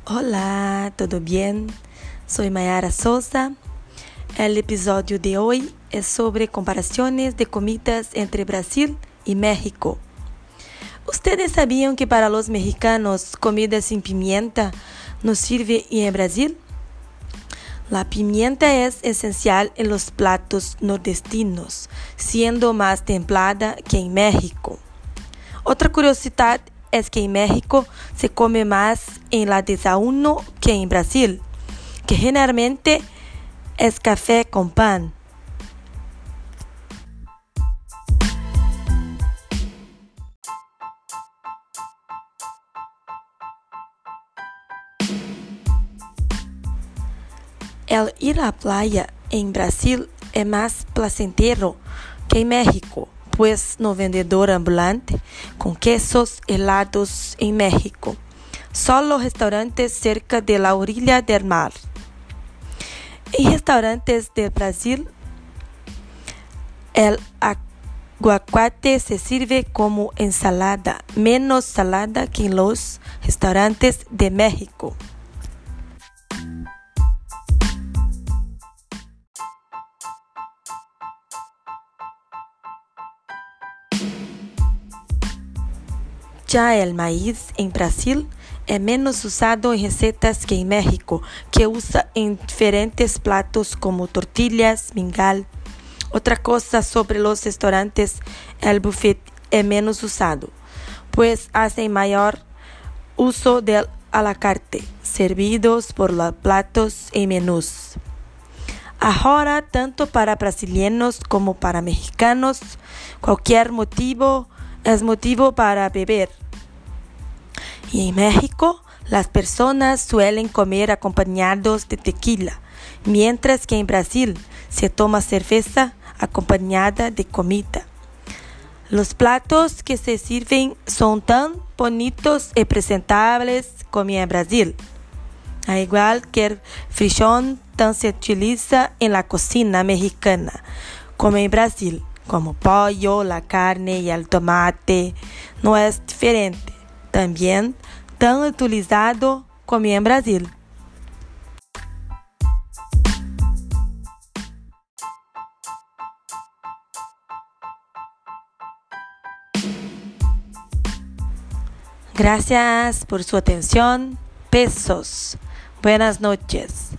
Hola, ¿todo bien? Soy Mayara Souza. El episodio de hoy es sobre comparaciones de comidas entre Brasil y México. ¿Ustedes sabían que para los mexicanos comida sin pimienta no sirve en Brasil? La pimienta es esencial en los platos nordestinos, siendo más templada que en México. Otra curiosidad es que en México se come más en la desayuno que en Brasil, que generalmente es café con pan. El ir a la playa en Brasil es más placentero que en México, pues no vendedor ambulante con quesos helados en México, solo restaurantes cerca de la orilla del mar. En restaurantes de Brasil, el aguacate se sirve como ensalada, menos salada que en los restaurantes de México. Ya el maíz en Brasil es menos usado en recetas que en México, que usa en diferentes platos como tortillas, mingau. Otra cosa sobre los restaurantes, el buffet es menos usado, pues hacen mayor uso del a la carte, servidos por los platos en menús. Ahora, tanto para brasileños como para mexicanos, cualquier motivo es motivo para beber. Y en México, las personas suelen comer acompañados de tequila, mientras que en Brasil se toma cerveza acompañada de comida. Los platos que se sirven son tan bonitos y presentables como en Brasil. Al igual que el frijol tan se utiliza en la cocina mexicana como en Brasil, como pollo, la carne y el tomate, no es diferente, también tan utilizado como en Brasil. Gracias por su atención. Besos. Buenas noches.